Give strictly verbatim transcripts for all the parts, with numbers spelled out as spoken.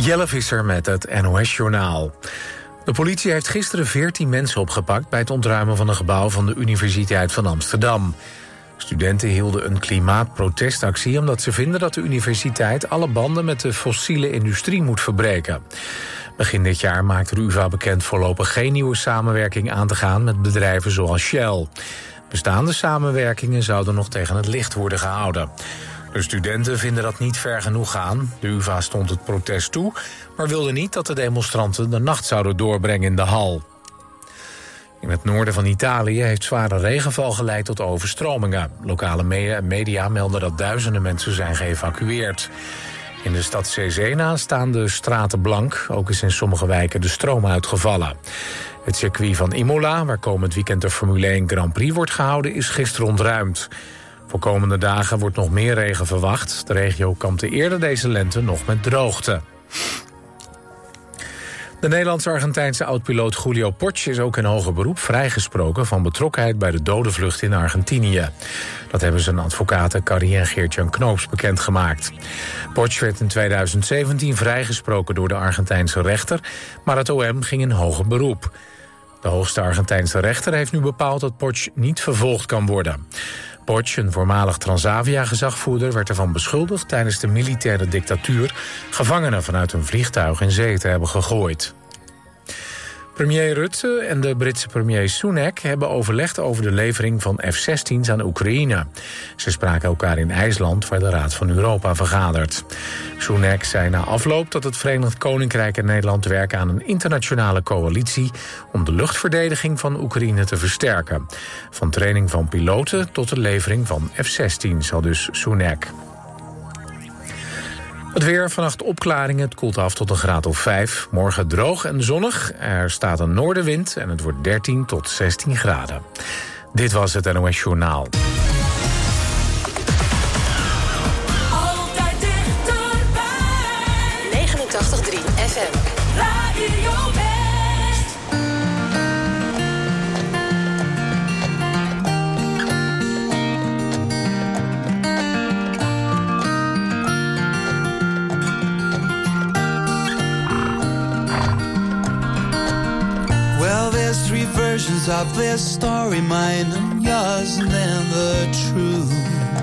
Jelle Visser met het N O S-journaal. De politie heeft gisteren veertien mensen opgepakt bij het ontruimen van een gebouw van de Universiteit van Amsterdam. Studenten hielden een klimaatprotestactie omdat ze vinden dat de universiteit alle banden met de fossiele industrie moet verbreken. Begin dit jaar maakte de U vA bekend voorlopig geen nieuwe samenwerking aan te gaan met bedrijven zoals Shell. Bestaande samenwerkingen zouden nog tegen het licht worden gehouden. De studenten vinden dat niet ver genoeg gaan. De U vA stond het protest toe, maar wilde niet dat de demonstranten de nacht zouden doorbrengen in de hal. In het noorden van Italië heeft zware regenval geleid tot overstromingen. Lokale media melden dat duizenden mensen zijn geëvacueerd. In de stad Cesena staan de straten blank. Ook is in sommige wijken de stroom uitgevallen. Het circuit van Imola, waar komend weekend de Formule één Grand Prix wordt gehouden, is gisteren ontruimd. Voor komende dagen wordt nog meer regen verwacht. De regio kampte eerder deze lente nog met droogte. De Nederlands-Argentijnse oud-piloot Julio Porch is ook in hoger beroep vrijgesproken van betrokkenheid bij de dodenvlucht in Argentinië. Dat hebben zijn advocaten Carrie en Geert-Jan Knoops bekendgemaakt. Porch werd in tweeduizend zeventien vrijgesproken door de Argentijnse rechter, maar het O M ging in hoger beroep. De hoogste Argentijnse rechter heeft nu bepaald dat Porch niet vervolgd kan worden. Porch, een voormalig Transavia-gezagvoerder, werd ervan beschuldigd tijdens de militaire dictatuur gevangenen vanuit een vliegtuig in zee te hebben gegooid. Premier Rutte en de Britse premier Sunak hebben overlegd over de levering van F zestien's aan Oekraïne. Ze spraken elkaar in IJsland, waar de Raad van Europa vergadert. Sunak zei na afloop dat het Verenigd Koninkrijk en Nederland werken aan een internationale coalitie om de luchtverdediging van Oekraïne te versterken. Van training van piloten tot de levering van F zestien's, al dus Sunak. Het weer, vannacht opklaringen, het koelt af tot een graad of vijf. Morgen droog en zonnig, er staat een noordenwind en het wordt dertien tot zestien graden. Dit was het N O S-journaal. Altijd dichterbij. negenentachtig komma drie F M. Radio West. Three versions of this story, mine and yours, and then the truth.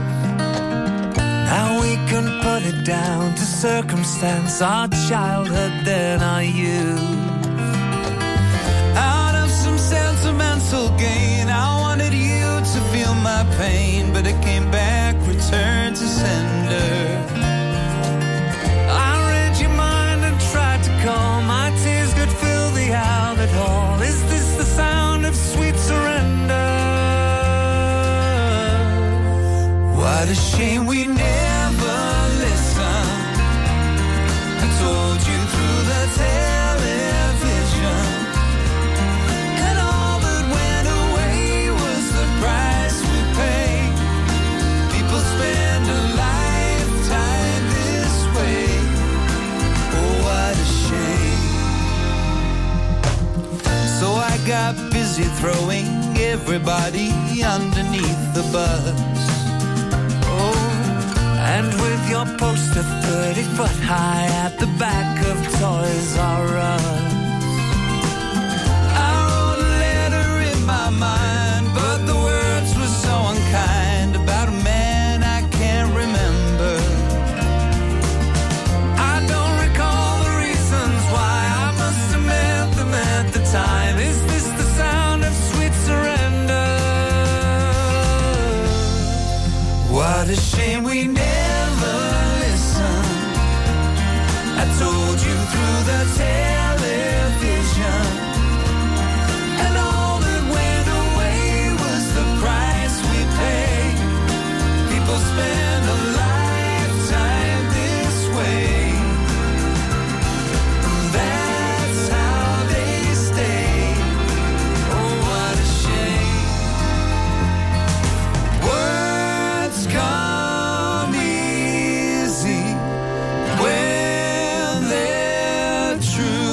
Now we can put it down to circumstance, our childhood, then our youth. Out of some sentimental gain, I wanted you to feel my pain, but it came back, returned to sender. I read your mind and tried to calm, my tears could fill the outlet hall. Is this the sound of sweet surrender? What a shame we never listened. I told you through the television, and all that went away was the price we paid. People spend a lifetime this way. Oh, what a shame. So I got busy throwing everybody underneath the bus. Oh, and with your poster thirty foot high at the back of Toys R Us, I wrote a letter in my mind, but the words were so unkind about a man I can't remember. I don't recall the reasons why, I must have meant them at the time. Is this the sound of sweet surrender? What a shame we never listened. I told you through the television, and all that went away was the price we paid. People spend a lifetime this way. That's how they stay. Oh, what a shame. Words come easy when they're true.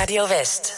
Radio West.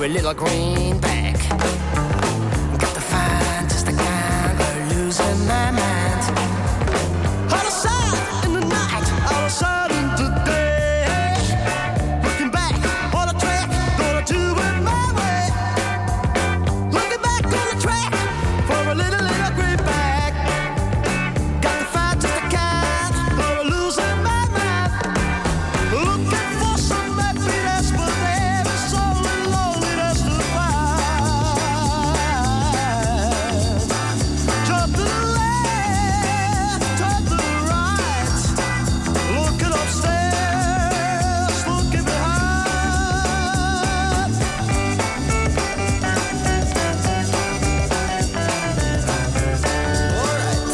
a little greenback. Got to find just the kind of losing my mind. Out of sight in the night, out of sight in the day. Looking back on the track, gonna do it my way. Looking back on the track for a little, little greenback. Got to find just the kind of losing my mind. Looking for some happiness, but there is so loneliness to find. Jump to the left, turn to the right. Looking upstairs, looking behind. All right.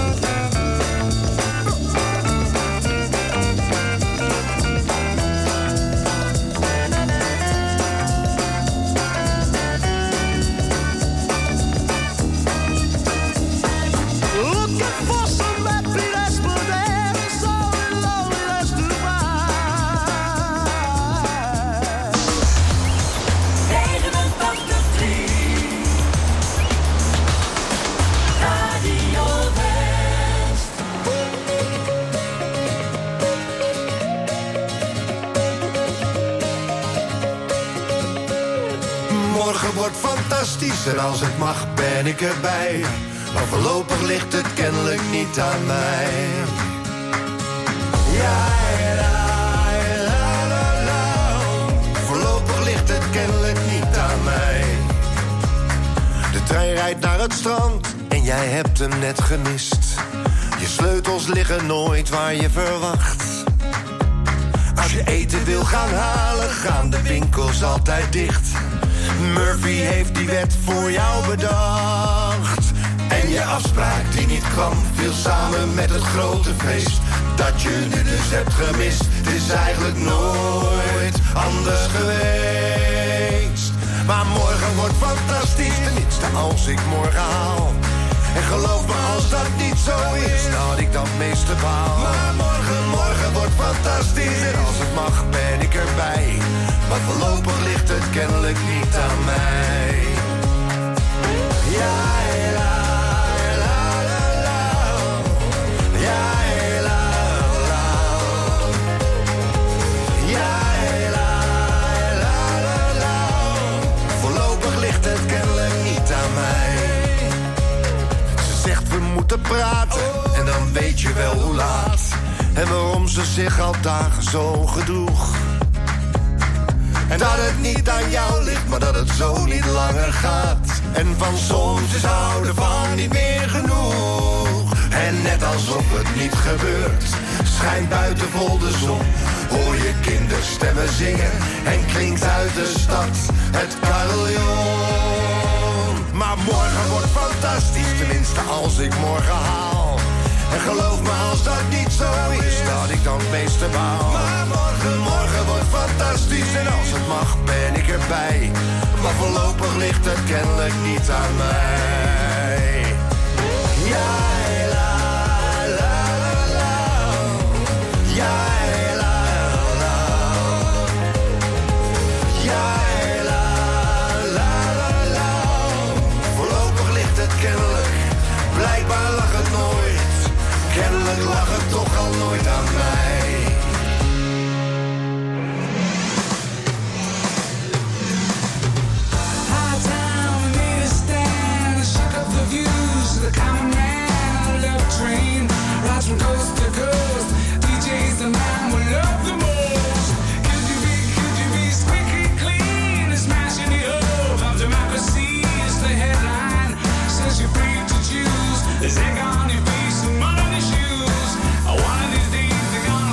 Looking for some happiness, but there is only loneliness to find. negenentachtig drie Radio West. Morgen wordt fantastisch en als het mag ben ik erbij. Maar voorlopig ligt het kennelijk niet aan mij. Ja, la, la, la, la. Voorlopig ligt het kennelijk niet aan mij. De trein rijdt naar het strand en jij hebt hem net gemist. Je sleutels liggen nooit waar je verwacht. Als je eten wil gaan halen, gaan de winkels altijd dicht. Murphy heeft die wet voor jou bedacht. En je afspraak die niet kwam, viel samen met het grote feest. Dat je nu dus hebt gemist, het is eigenlijk nooit anders geweest. Maar morgen wordt fantastisch, tenminste als ik morgen haal. En geloof me als dat niet zo is, dat ik dat meeste baal. Maar morgen, morgen wordt fantastisch en als het mag ben ik erbij. Maar voorlopig ligt het kennelijk niet aan mij. Ja, la, la, la, la. Ja, la, la. Ja, la, la, la, la. Voorlopig ligt het kennelijk niet aan mij. Ze zegt we moeten praten en dan weet je wel hoe laat. En waarom ze zich al dagen zo gedroeg. En dat het niet aan jou ligt, maar dat het zo niet langer gaat. En van soms is houden van niet meer genoeg. En net alsof het niet gebeurt, schijnt buiten vol de zon. Hoor je kinderstemmen zingen en klinkt uit de stad het carillon. Maar morgen wordt fantastisch, tenminste als ik morgen haal. En geloof me als dat niet zo is, dat ik dan het meeste baal. Maar morgen, morgen wordt fantastisch en als het mag ben ik erbij. Maar voorlopig ligt het kennelijk niet aan mij. Ja, la, la, la, la. Ja, la, la. Ja, la, la, la, la. Voorlopig ligt het kennelijk, blijkbaar lag het nooit. Kennelijk lag het toch al nooit aan mij. High town, we made a stand, shook up the views. The common man, love train, rides from coast to coast. D J's the man we love the most. Could you be, could you be squeaky clean and smashing the hope of democracy is the headline. Says you're free to choose. There's egg on your face and mud on your shoes. One of these days they're gonna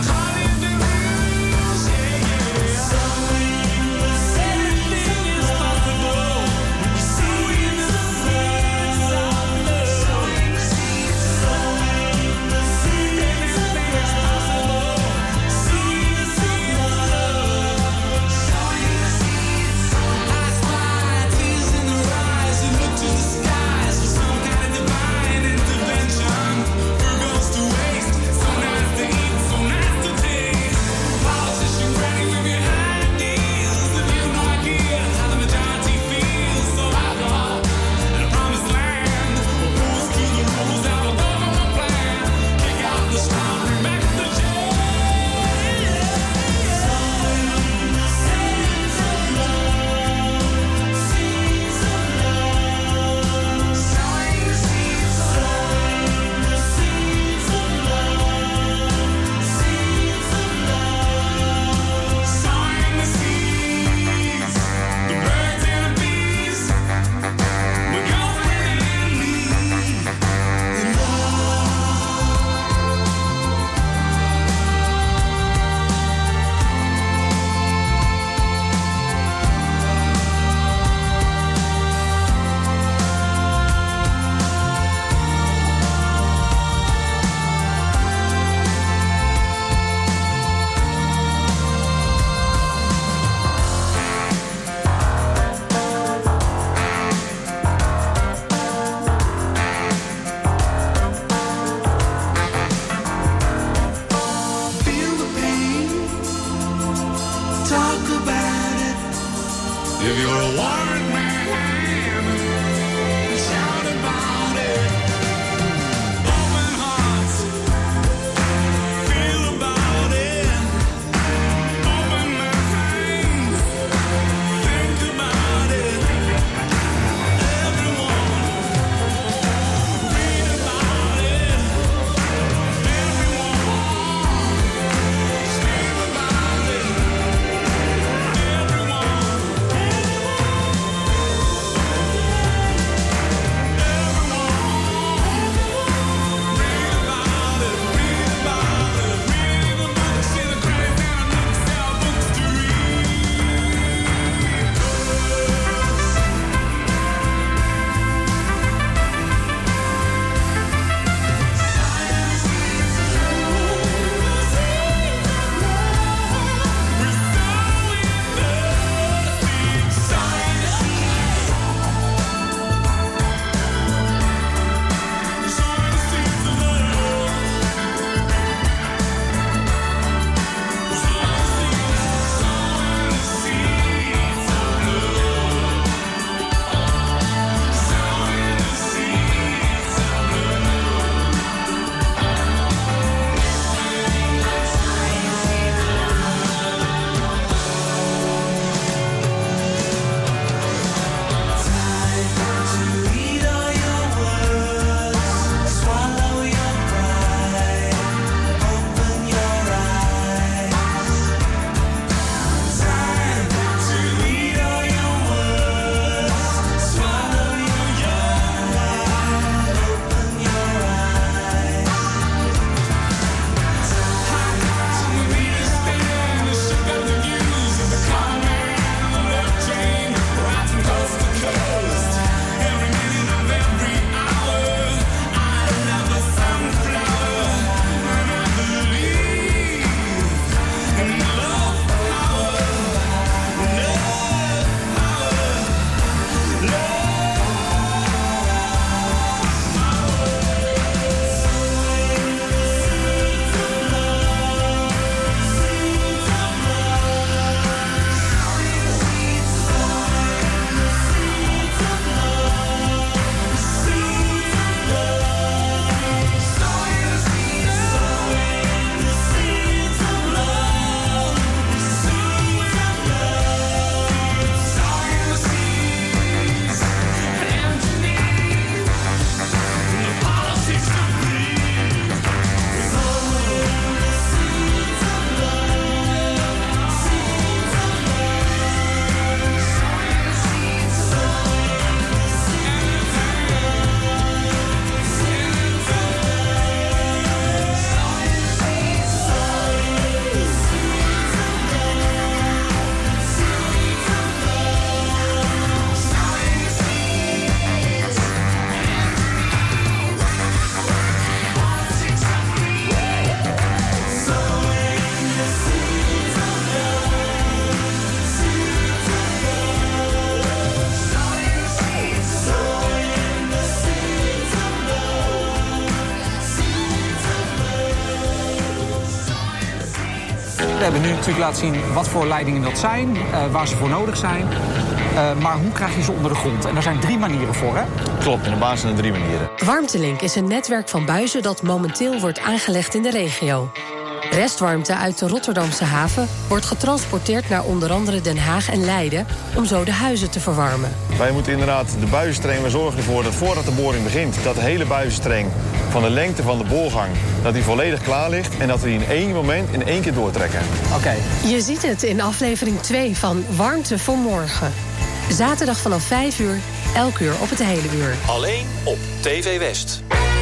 We hebben nu natuurlijk laten zien wat voor leidingen dat zijn, uh, waar ze voor nodig zijn. Uh, maar hoe krijg je ze onder de grond? En daar zijn drie manieren voor, hè? Klopt, in de basis zijn er drie manieren. Warmtelink is een netwerk van buizen dat momenteel wordt aangelegd in de regio. Restwarmte uit de Rotterdamse haven wordt getransporteerd naar onder andere Den Haag en Leiden om zo de huizen te verwarmen. Wij moeten inderdaad de buizenstreng, we zorgen ervoor dat voordat de boring begint, dat de hele buizenstreng van de lengte van de boorgang, dat die volledig klaar ligt en dat we die in één moment in één keer doortrekken. Oké. Okay. Je ziet het in aflevering twee van Warmte voor Morgen. Zaterdag vanaf vijf uur, elk uur op het hele uur. Alleen op T V West.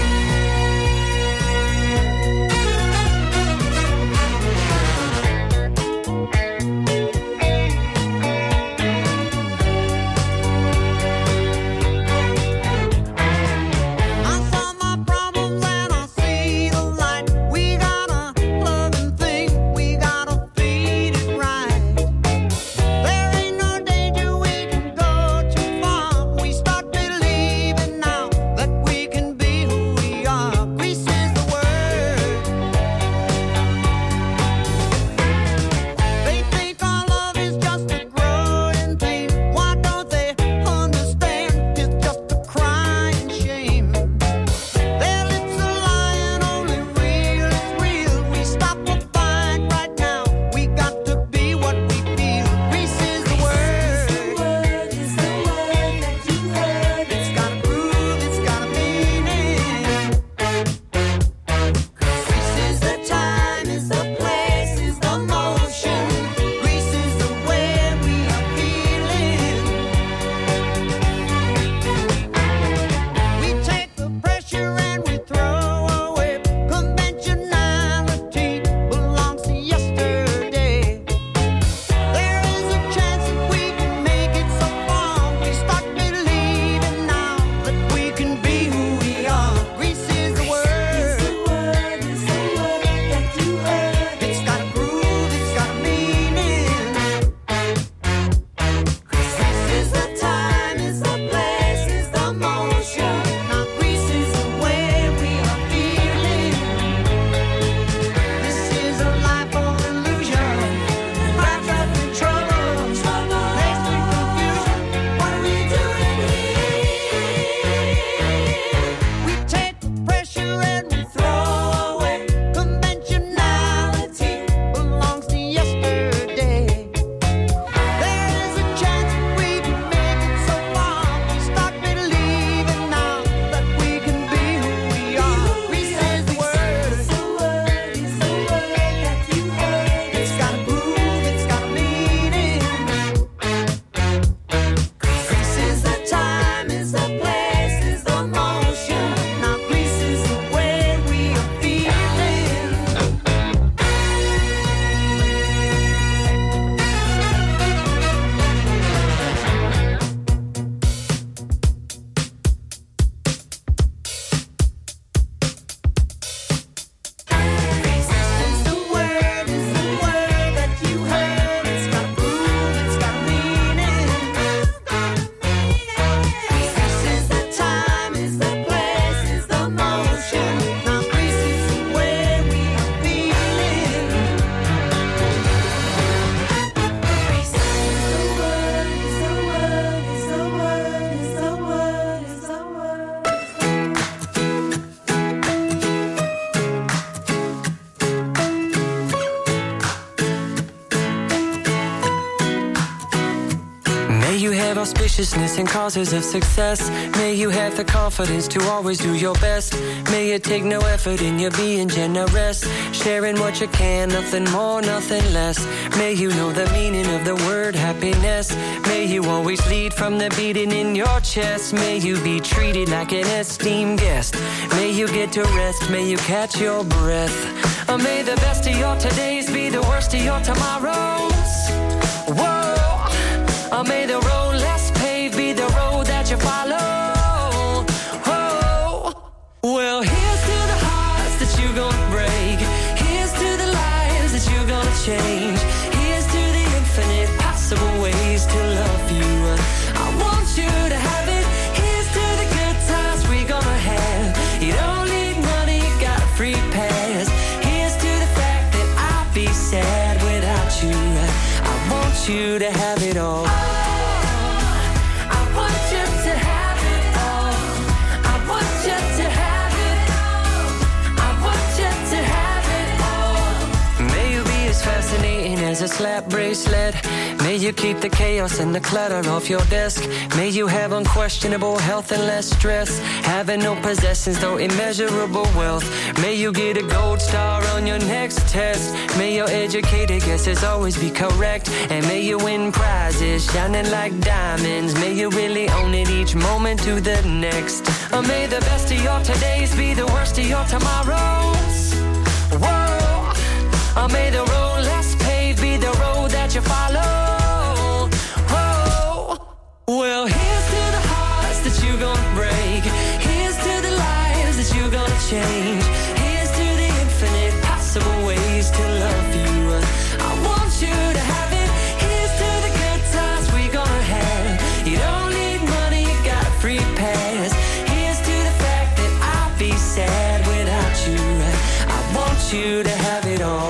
Auspiciousness and causes of success. May you have the confidence to always do your best. May it take no effort in your being generous. Sharing what you can, nothing more, nothing less. May you know the meaning of the word happiness. May you always lead from the beating in your chest. May you be treated like an esteemed guest. May you get to rest, may you catch your breath. Or may the best of your todays be the worst of your tomorrows. Whoa. Or may the road less paved be the road that you follow. Oh, well, here's to the hearts that you're gonna break. Here's to the lives that you're gonna change. Here's to the infinite possible ways to love you. I want you to have it. Here's to the good times we're gonna have. You don't need money, you got a free pass. Here's to the fact that I'll be sad when you to have it all. Fascinating as a slap bracelet. May you keep the chaos and the clutter off your desk. May you have unquestionable health and less stress. Having no possessions, though immeasurable wealth. May you get a gold star on your next test. May your educated guesses always be correct. And may you win prizes shining like diamonds. May you really own it each moment to the next. Or may the best of your todays be the worst of your tomorrows. Whoa. Or may the road less paved be the road that you follow. Oh, well, here's to the hearts that you're gonna break. Here's to the lives that you're gonna change. Here's to the infinite possible ways to love you. I want you to have it. Here's to the good times we're gonna have. You don't need money, you got a free pass. Here's to the fact that I'll be sad without you. I want you to have it all.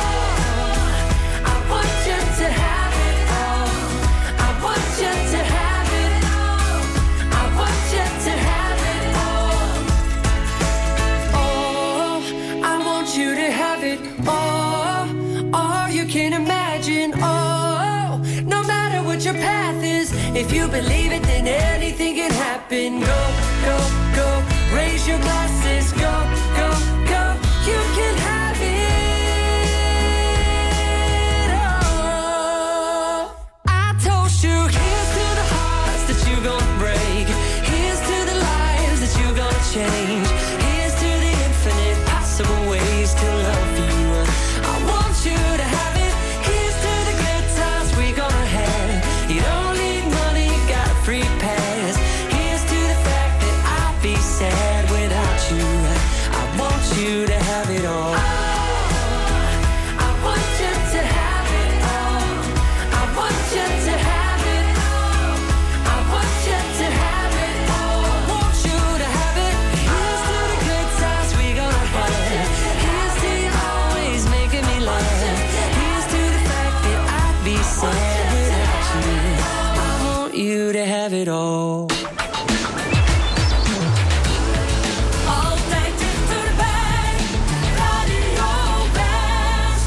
If you believe it, then anything can happen. Go, go, go, raise your glasses. Go, go, go, you can have it all. I told you, here's to the hearts that you're gonna break. Here's to the lives that you're gonna change. Here's to the infinite possible ways to love you. I want you to have it. Here's to the good times we're gonna have. You don't free pass. Here's to the fact that I'll be sad without you. I want you to have it all. I want you to have it all. I want you to have it all. I want you to have it all. I want you to have it. Here's to the good times we're gonna have. Here's to you always making me laugh. Here's to the fact that I'd be sad without you. You to have it all. Altijd dichterbij, Radio West.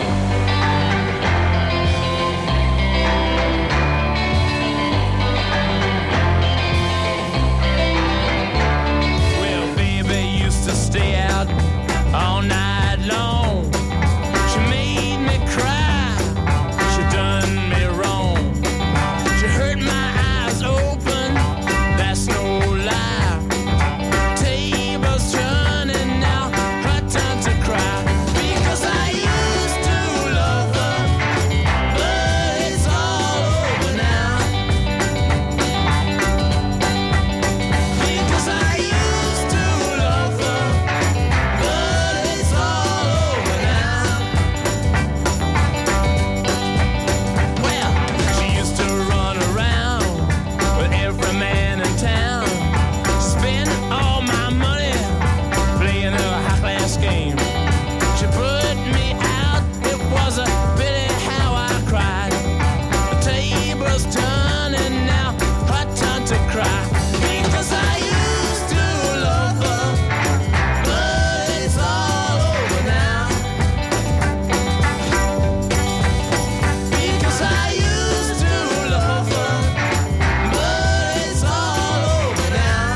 Well, baby used to stay out all night long. She made me cry. She done me wrong. She hurt my eyes open, that's no lie. Tables turning now, her time to cry. Because I used to love her, but it's all over now. Because I used to love her, but it's all over now. Well, she used to run around with every man in town. Spend all my money playing her high-class game. She put me out, it was a pity how I cried. The table's turning now, her turn to cry. Because I used to love her, but it's all over now. Because I used to love her, but it's all over now.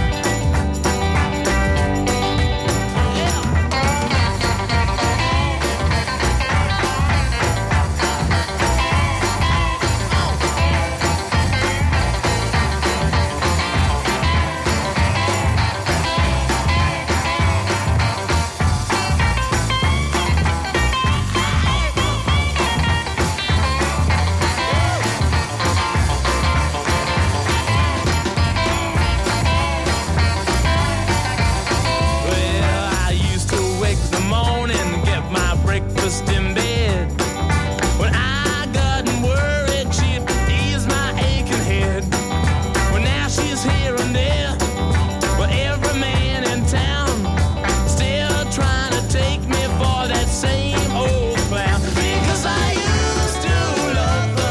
Well, I used to wake the morning, get my breakfast in bed. When I got worried, she'd ease my aching head. Well, now she's here and there, with every man in town, still trying to take me for that same old clown. Because I used to love her,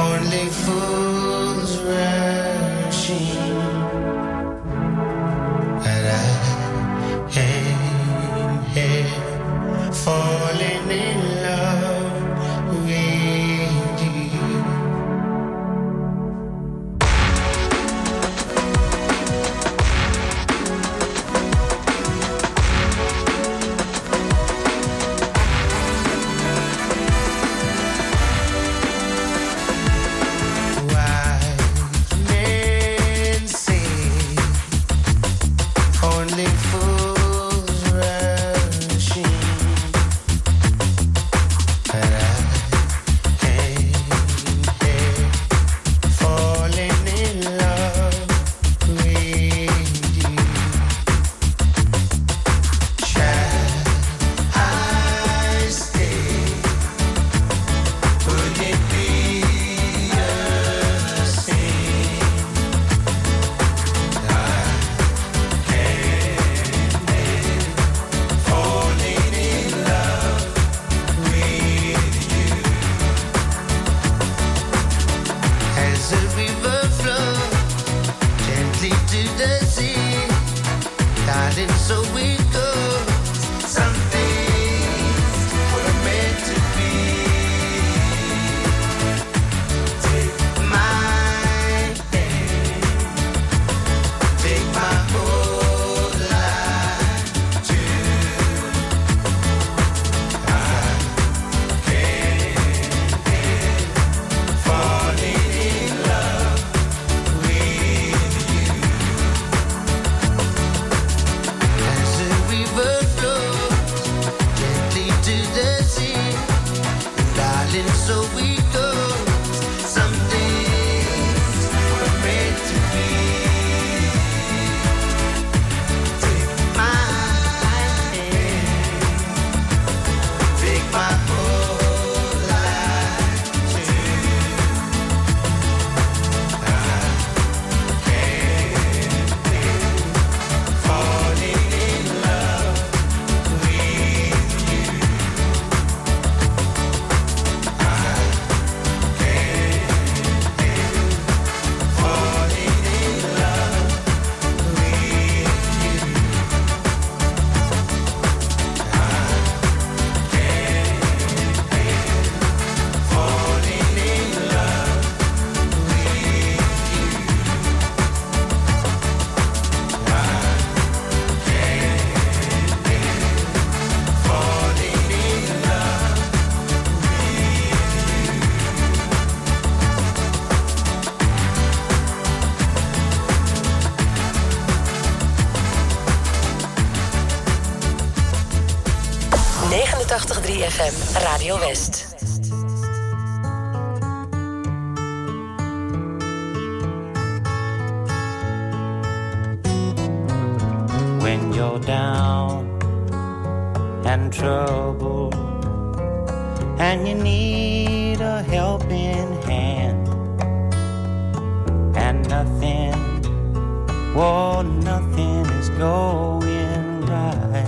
only fools rushing, and I am here falling in love with you. negenentachtig komma drie F M, Radio West. When you're down and troubled and you need a helping hand and nothing, well, nothing is going right.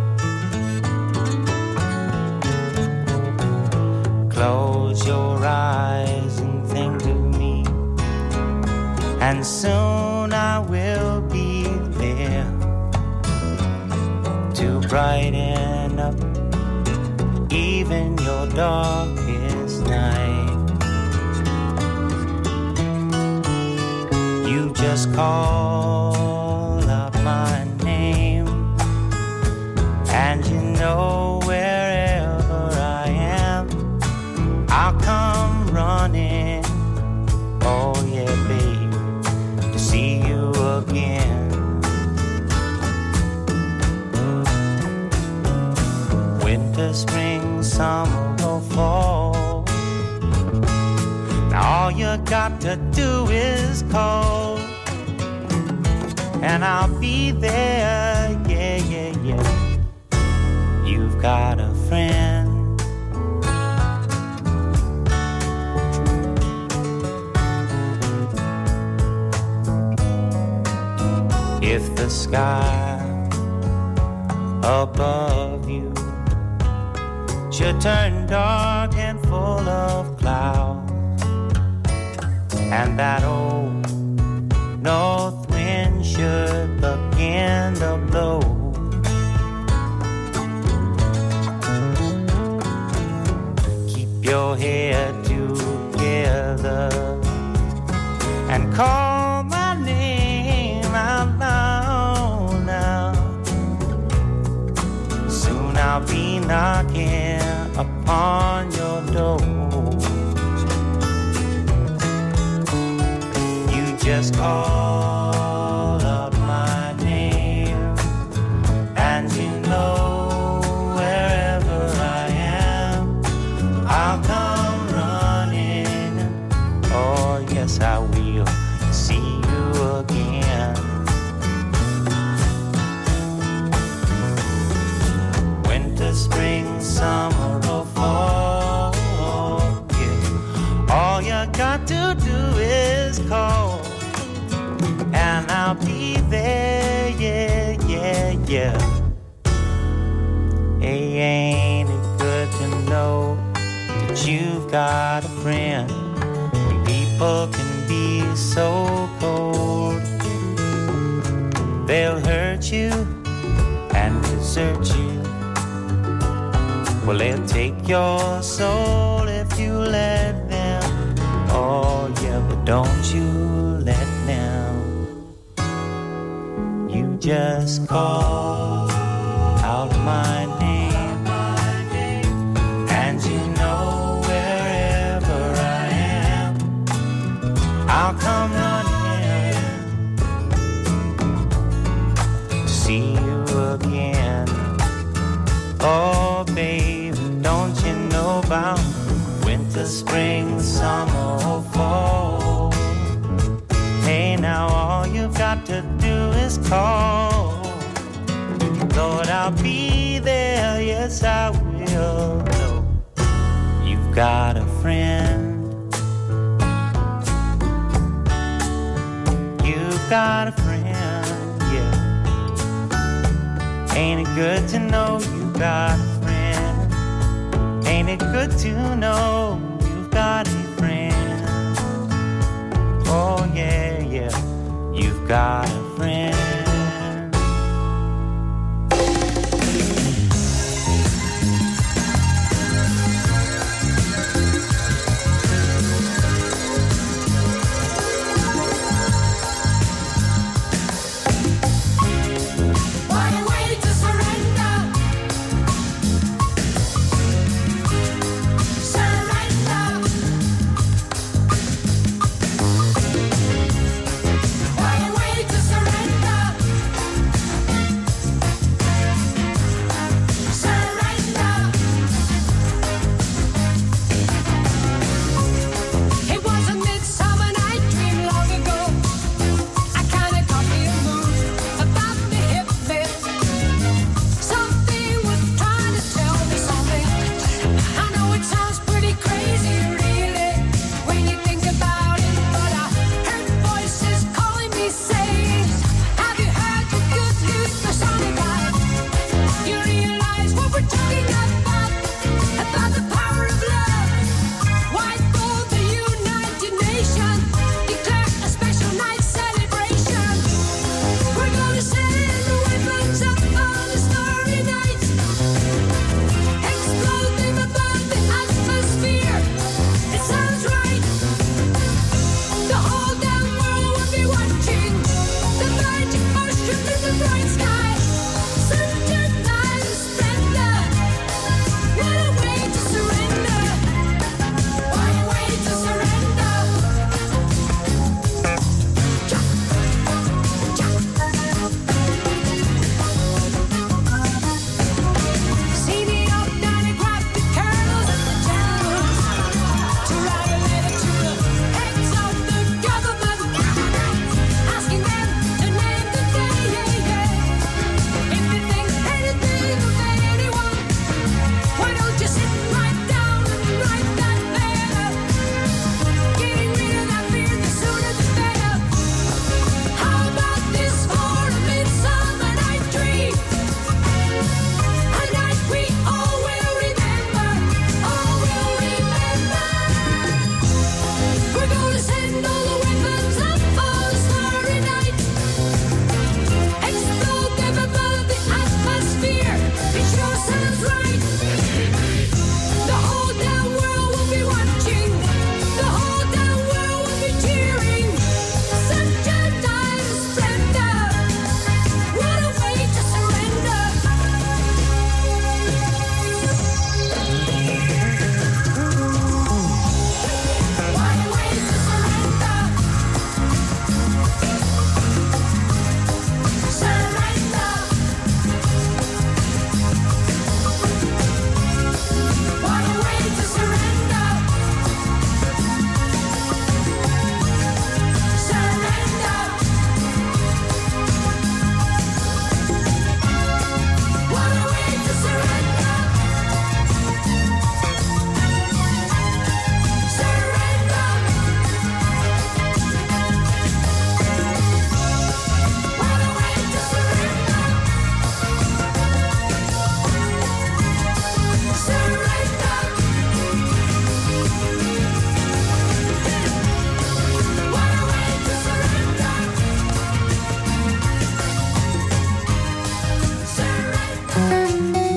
Close your eyes and think of me, and soon I will be there to brighten up even your darkest night. You just call out my name, and you know wherever I am, I'll come running. Oh yeah, babe, to see you again. Winter, spring, summer or fall, now all you got to do is call, and I'll be there, yeah, yeah, yeah. You've got a friend. If the sky above you should turn dark and full of clouds, and that old north wind should begin to blow. Keep your head together and call my name out loud now. Soon I'll be knocking upon your door. You just call out my name, and you know wherever I am, I'll come running. Oh yes, I will see you again. Winter, spring, summer, or fall, yeah. All you got to do is call, and I'll be there, yeah, yeah, yeah. Hey, ain't it good to know that you've got a friend when people can be so cold? They'll hurt you and desert you. Well, they'll take your soul if you let them. Oh, yeah, but don't you let them. You just call out my name, and you know wherever I am, I'll come running to see you again. Oh, baby, don't you know about winter, spring, summer, or fall? Hey, now all you've got to do is call. Lord, I'll be there, yes, I will. No, you've got a friend. You've got a friend, yeah. Ain't it good to know you've got a friend? Ain't it good to know you've got a friend? Oh yeah, yeah, you've got a friend. Surrender.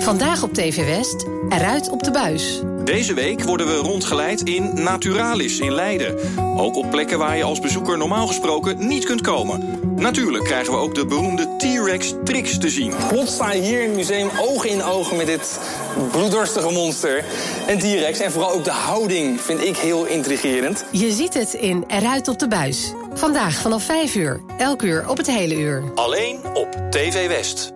Vandaag op T V West, eruit op de buis. Deze week worden we rondgeleid in Naturalis in Leiden. Ook op plekken waar je als bezoeker normaal gesproken niet kunt komen. Natuurlijk krijgen we ook de beroemde T-Rex Trix te zien. Plots sta je hier in het museum oog in oog met dit bloeddorstige monster. Een T-Rex en vooral ook de houding vind ik heel intrigerend. Je ziet het in Eruit op de buis. Vandaag vanaf vijf uur, elk uur op het hele uur. Alleen op T V West.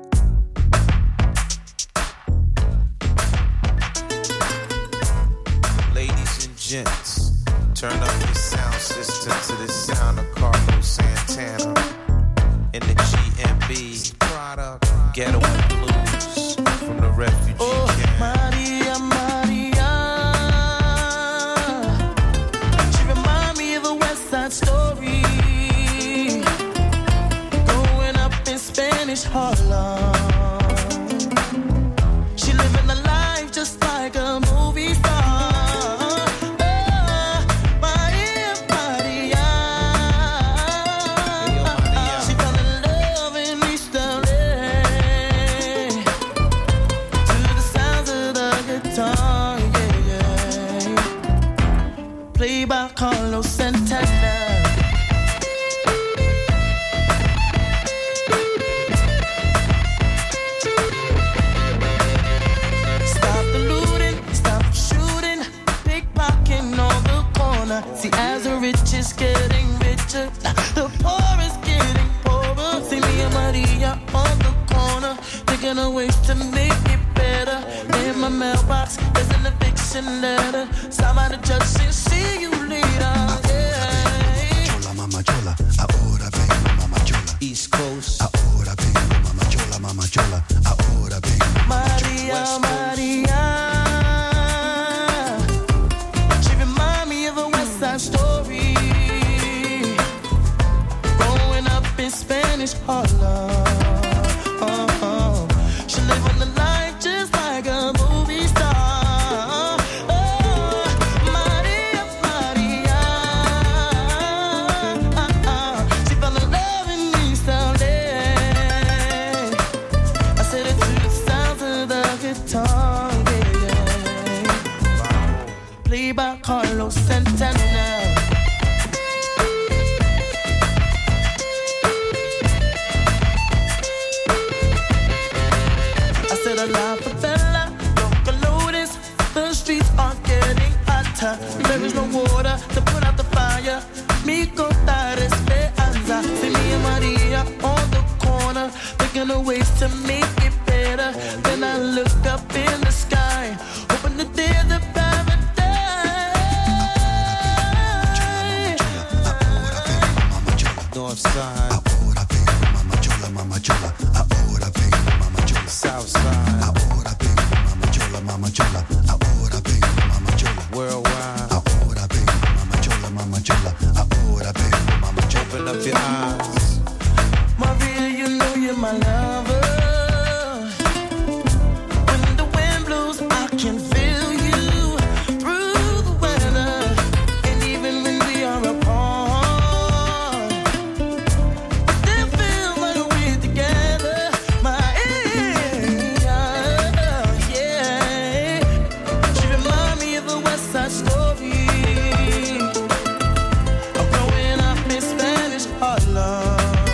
Gents, turn up your sound system to the sound of Carlos Santana in the G M B product Ghetto Blues from the refugee oh, camp. Maria, Maria, she remind me of a West Side Story, growing up in Spanish Harlem. She living a life just like a movie star. Carlos Santana. Stop the looting, stop shooting, pickpocketing on the corner. See, as the rich is getting richer, the poor is getting poorer. See me and Maria on the corner, thinking of ways to make it better. In my mailbox, there's an eviction letter. Stop by the judge and see you later. Chola, mama chola, ahora vengo, mama chola. East Coast, ahora vengo, mama chola, mama chola, ahora vengo. Maria, Maria, she remind me of a West Side Story, growing up in Spanish Harlem. Oh, oh. She live on the life just like a movie star. Oh, Maria, Maria, she fell in love in East L A. I said it to the sounds of the guitar, yeah, yeah. Played by Carlos Santana. A la favela, local notice, the streets are getting hotter. There is no water to put out the fire. Mi contar esperanza. See me and Maria on the corner, thinking of ways to make it better. Then I look up in the sky, hoping that there's a paradise. North side, ahora vengo, mama chola, mama chola, ahora vengo, mama chola. South side, ahora vengo, mama chola, mama chola, ahora vengo, mama chola. Worldwide, ahora vengo, mama chola, mama chola, ahora vengo, mama chola. Open up your eyes, Maria, you know you're my lover. When the wind blows, I can feel you through the weather, and even when we are apart, I still feel like we're together. Maria, yeah, she remind me of a West Side Story, of growing up in Spanish Harlem.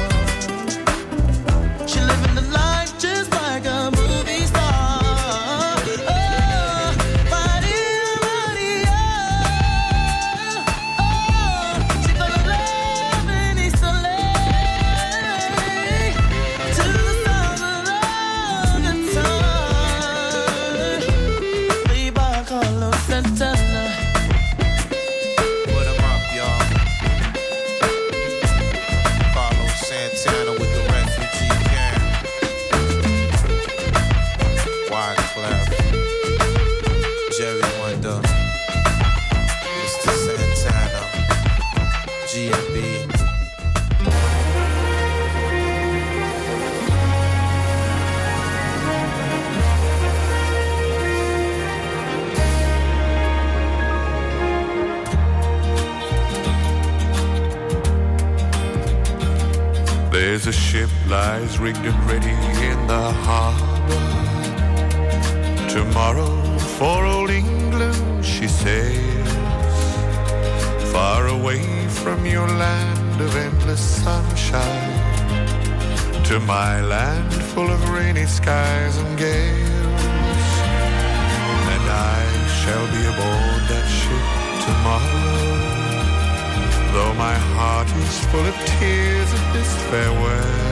She living the life just like a movie star. Oh, Maria, Maria, oh, she fell in love in East L A. To the sound of the guitar, played by Carlos Santana. put 'em up, y'all. Carlos Santana with the refugee camp. Wyclef, Jerry Wonder, Mister Santana, G M B. There's a ship lies rigged and ready in the harbor. Tomorrow for old England she sails, far away from your land of endless sunshine, to my land full of rainy skies and gales. And I shall be aboard that ship tomorrow, though my heart is full of tears at this farewell.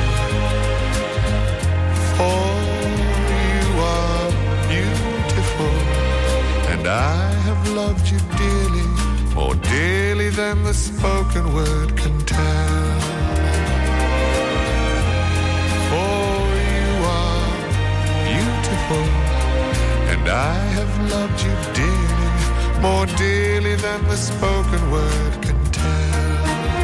For you are beautiful, and I have loved you dearly, more dearly than the spoken word can tell. For you are beautiful, and I have loved you dearly, more dearly than the spoken word can tell.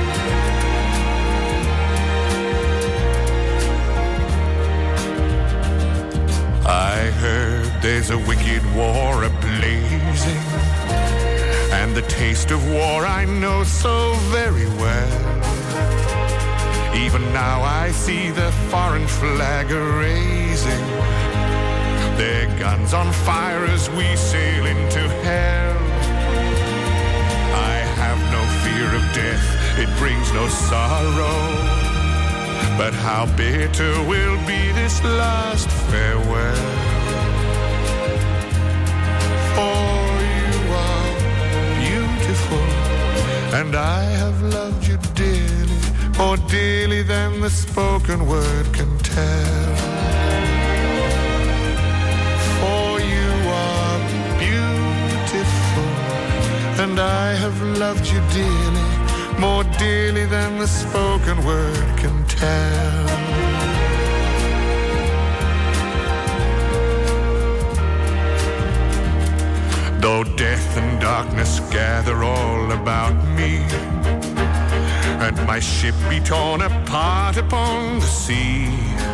I heard there's a wicked war a-blazing, and the taste of war I know so very well. Even now I see the foreign flag a-raising, their guns on fire as we sail into hell. I have no fear of death, it brings no sorrow, but how bitter will be this last farewell. For you are beautiful, and I have loved you dearly, more dearly than the spoken word can tell. For you are beautiful, and I have loved you dearly, more dearly than the spoken word can tell. Though death and darkness gather all about me, and my ship be torn apart upon the sea,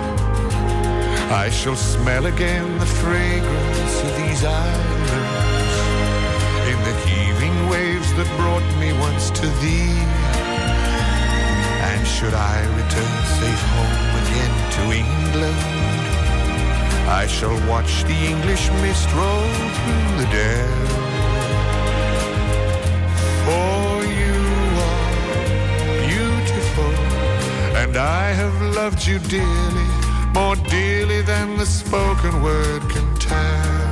I shall smell again the fragrance of these islands, in the heaving waves that brought me once to thee. And should I return safe home again to England, I shall watch the English mist roll through the dell. For you are beautiful, and I have loved you dearly, more dearly than the spoken word can tell.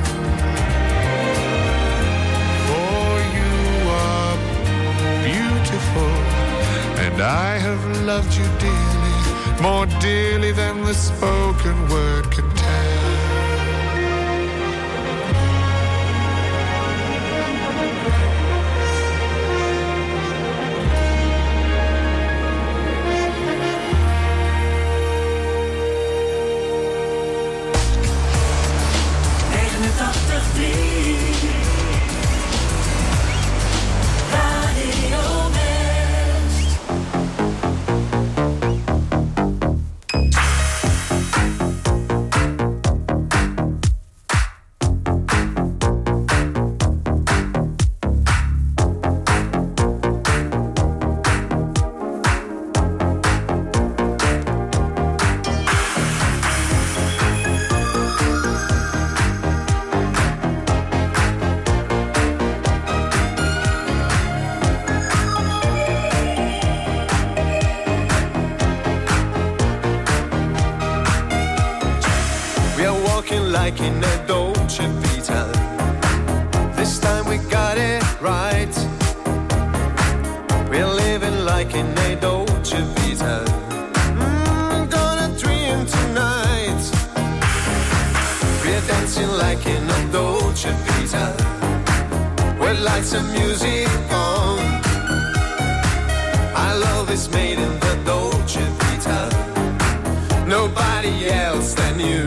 For you are beautiful, and I have loved you dearly, more dearly than the spoken word can tell. Like in a Dolce Vita, this time we got it right. We're living like in a Dolce Vita. Mm, gonna dream tonight. We're dancing like in a Dolce Vita, with lights and music on. Our love is made in the Dolce Vita, nobody else than you.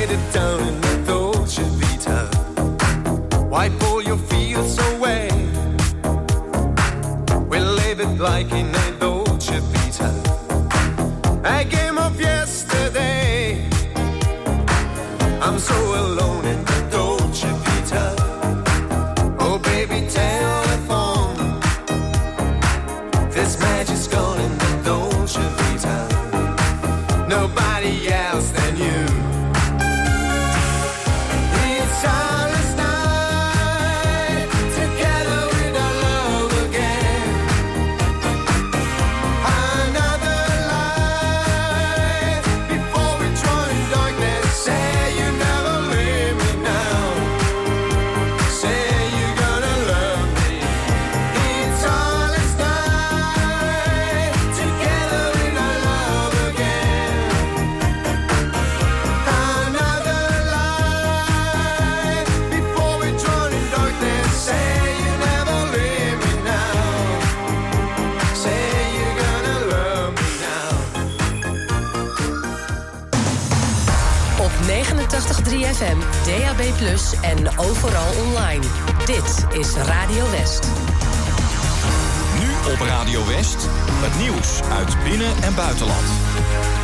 Lay it down in the Dolce Vita. Wipe all your fears away. We'll live it like in a Dolce Vita. A game of yesterday. I'm so alone in the Dolce Vita. Oh baby, telephone. This magic's gone in the Dolce Vita. Nobody else than you. It's our night together with our love again. Another life before we join darkness. Say you never leave me now. Say you're gonna love me. It's our night together with our love again. Another life before we drown in darkness. Say you never leave me now. Say you're gonna love me now. Op negenentachtig komma drie F M, D A B plus, en overal online. Dit is Radio West. Nu op Radio West, het nieuws uit binnen- en buitenland.